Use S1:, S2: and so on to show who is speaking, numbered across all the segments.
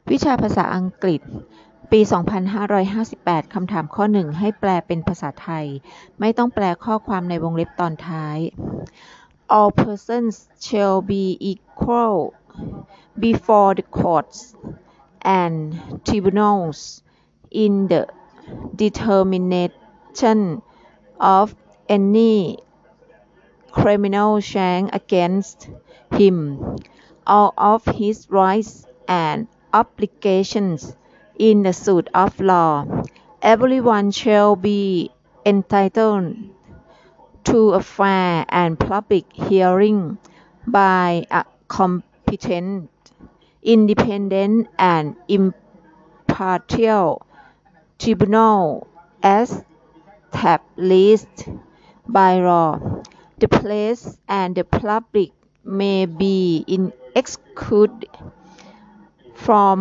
S1: วิชาภาษาอังกฤษปี 2558 คำถามข้อ 1 ให้แปลเป็นภาษาไทยไม่ต้องแปลข้อความในวงเล็บตอนท้าย All persons shall be equal before the courts and tribunals in the determination of any criminal charge against him. All of his rights and obligations in the suit of law. Everyone shall be entitled to a fair and public hearing by a competent, independent and impartial tribunal as established by law. The press and the public may be excluded from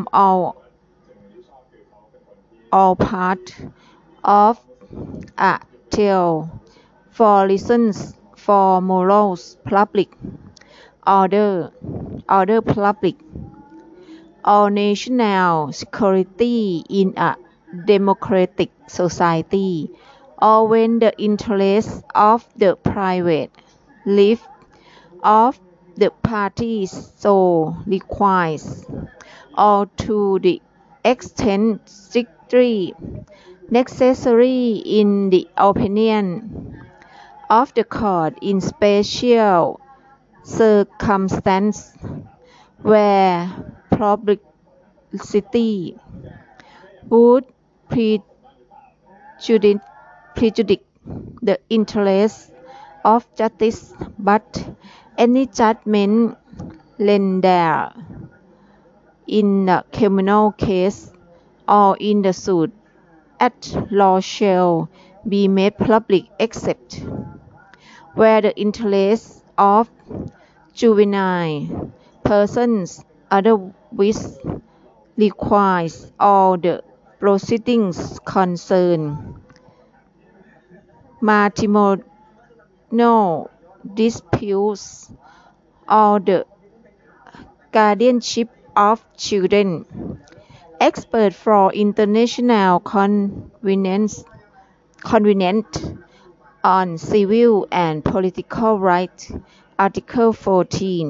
S1: all parts of a trial for reasons for morals, public order, public or national security in a democratic society, or when the interests of the private life of the parties so requires, or to the extent strictly necessary in the opinion of the court in special circumstances where publicity would prejudice the interests of justice, but any judgment rendered in a criminal case or in the suit at law shall be made public except where the interests of juvenile persons otherwise requires all the proceedings concerned matrimonial disputes or the guardianship of children. Expert for international convenience on civil and political rights Article 14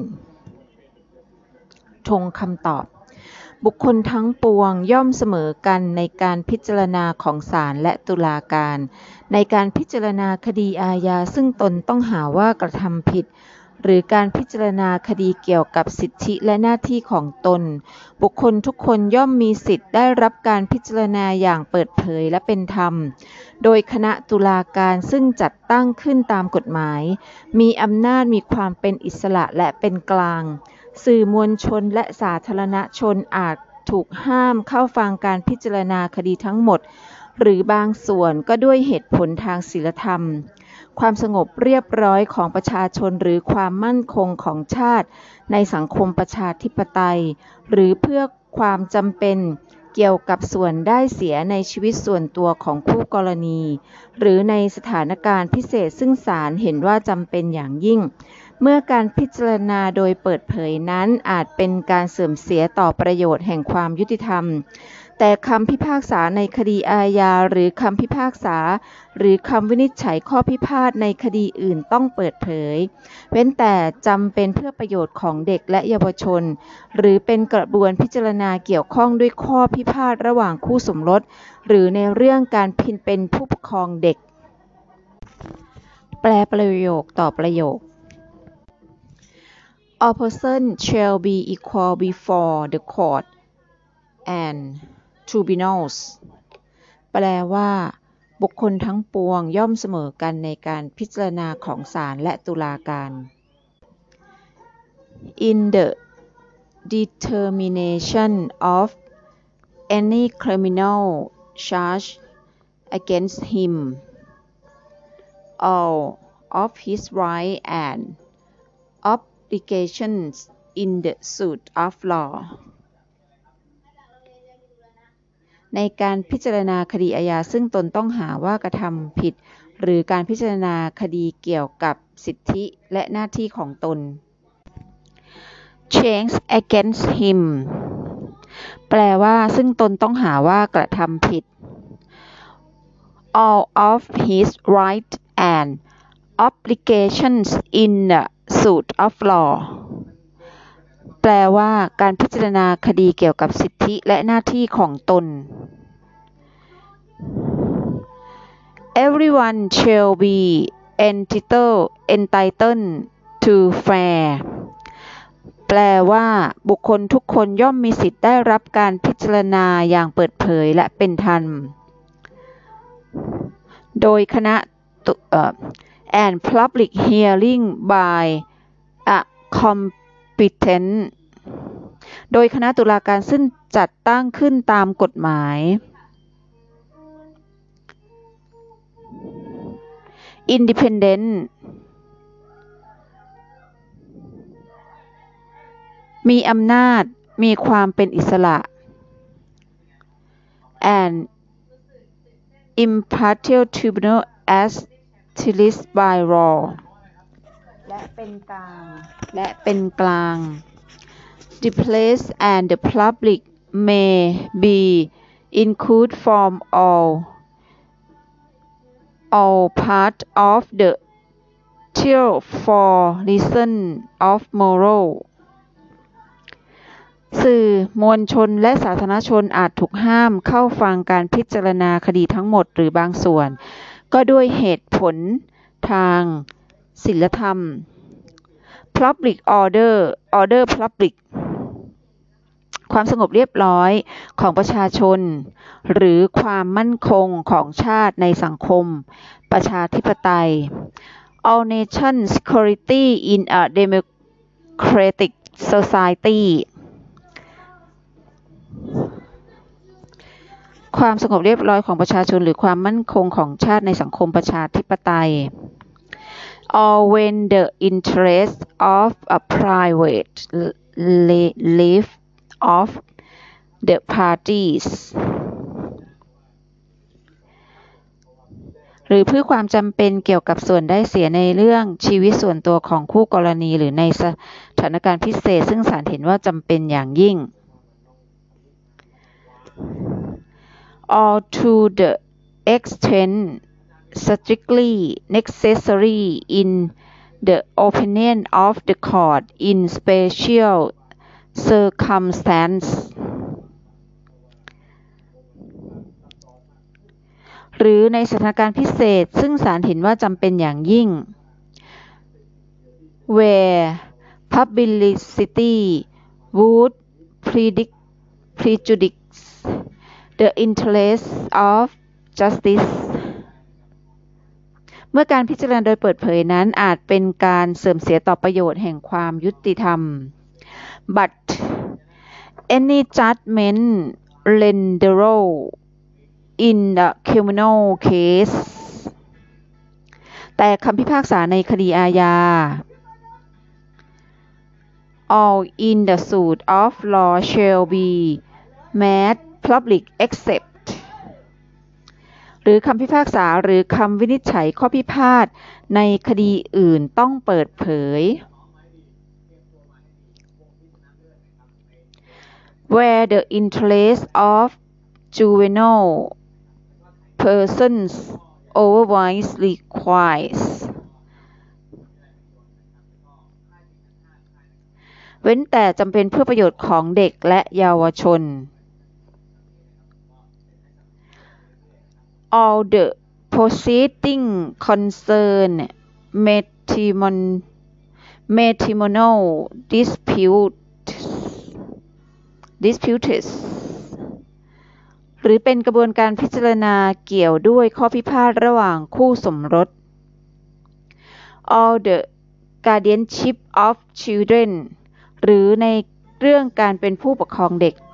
S1: ทงคำตอบบุคคลทั้งปวงย่อมเสมอกันในการพิจารณาของศาลและตุลาการในการพิจารณาคดีอาญาซึ่งตนต้องหาว่ากระทำผิดหรือการพิจารณาคดีเกี่ยวกับสิทธิและหน้าที่ของตนบุคคลทุกคนย่อมมีสิทธิ์ได้รับการพิจารณาอย่างเปิดเผยและเป็นธรรมโดยคณะตุลาการซึ่งจัดตั้งขึ้นตามกฎหมายมีอำนาจมีความเป็นอิสระและเป็นกลางสื่อมวลชนและสาธารณชนอาจถูกห้ามเข้าฟังการพิจารณาคดีทั้งหมดหรือบางส่วนก็ด้วยเหตุผลทางศีลธรรมความสงบเรียบร้อยของประชาชนหรือความมั่นคงของชาติในสังคมประชาธิปไตยหรือเพื่อความจำเป็นเกี่ยวกับส่วนได้เสียในชีวิตส่วนตัวของคู่กรณีหรือในสถานการณ์พิเศษซึ่งศาลเห็นว่าจำเป็นอย่างยิ่งเมื่อการพิจารณาโดยเปิดเผยนั้นอาจเป็นการเสื่อมเสียต่อประโยชน์แห่งความยุติธรรมแต่คำพิพากษาในคดีอาญาหรือคำพิพากษาหรือคำวินิจฉัยข้อพิพาทในคดีอื่นต้องเปิดเผยเว้นแต่จำเป็นเพื่อประโยชน์ของเด็กและเยาวชนหรือเป็นกระบวนพิจารณาเกี่ยวข้องด้วยข้อพิพาทระหว่างคู่สมรสหรือในเรื่องการเป็นผู้ปกครองเด็กแปลประโยคต่อประโยค All persons shall be equal before the court and tribunals แปลว่าบุคคลทั้งปวงย่อมเสมอกันในการพิจารณาของศาลและตุลาการ In the determination of any criminal charge against him, all of his rights and obligations in the suit of lawในการพิจารณาคดีอาญาซึ่งตนต้องหาว่ากระทำผิดหรือการพิจารณาคดีเกี่ยวกับสิทธิและหน้าที่ของตน Charge against him แปลว่าซึ่งตนต้องหาว่ากระทำผิด all of his rights and obligations in the suit of law แปลว่าการพิจารณาคดีเกี่ยวกับสิทธิและหน้าที่ของตน Everyone shall be entitled to fair แปลว่าบุคคลทุกคนย่อมมีสิทธิ์ได้รับการพิจารณาอย่างเปิดเผยและเป็นธรรมโดยคณะand public hearing by a competent โดยคณะตุลาการซึ่งจัดตั้งขึ้นตามกฎหมาย independent มีอำนาจมีความเป็นอิสระ and impartial tribunal as established by law และเป็นกลาง The place and the public may be included from all part of the trial for reason of moral สื่อมวลชนและสาธารณชนอาจถูกห้ามเข้าฟังการพิจารณาคดีทั้งหมดหรือบางส่วนก็ด้วยเหตุผลทางศีลธรรม Public order public ความสงบเรียบร้อยของประชาชนหรือความมั่นคงของชาติในสังคมประชาธิปไตย All nation security in a democratic society ความสงบเรียบร้อยของประชาชนหรือความมั่นคงของชาติในสังคมประชาธิปไตย or when the interests of a private life of the parties หรือเพื่อความจำเป็นเกี่ยวกับส่วนได้เสียในเรื่องชีวิตส่วนตัวของคู่กรณีหรือในสถานการณ์พิเศษซึ่งศาลเห็นว่าจำเป็นอย่างยิ่ง or to the extent strictly necessary in the opinion of the court in special circumstances หรือในสถานการณ์พิเศษซึ่งศาลเห็นว่าจำเป็นอย่างยิ่ง where publicity would prejudice the interests of justice เมื่อการพิจารณาโดยเปิดเผยนั้นอาจเป็นการเสื่อมเสียต่อประโยชน์แห่งความยุติธรรม but any judgment rendered in the criminal case แต่คำพิพากษาในคดีอาญา all in the suit of law shall be made public except หรือคำพิพากษาหรือคำวินิจฉัยข้อพิพาทในคดีอื่นต้องเปิดเผย where the interest of juvenile persons otherwise requires เว้นแต่จำเป็นเพื่อประโยชน์ของเด็กและเยาวชน all the proceeding concern matrimonial disputes หรือเป็นกระบวนการพิจารณาเกี่ยวด้วยข้อพิพาทระหว่างคู่สมรส all the guardianship of children หรือในเรื่องการเป็นผู้ปกครองเด็ก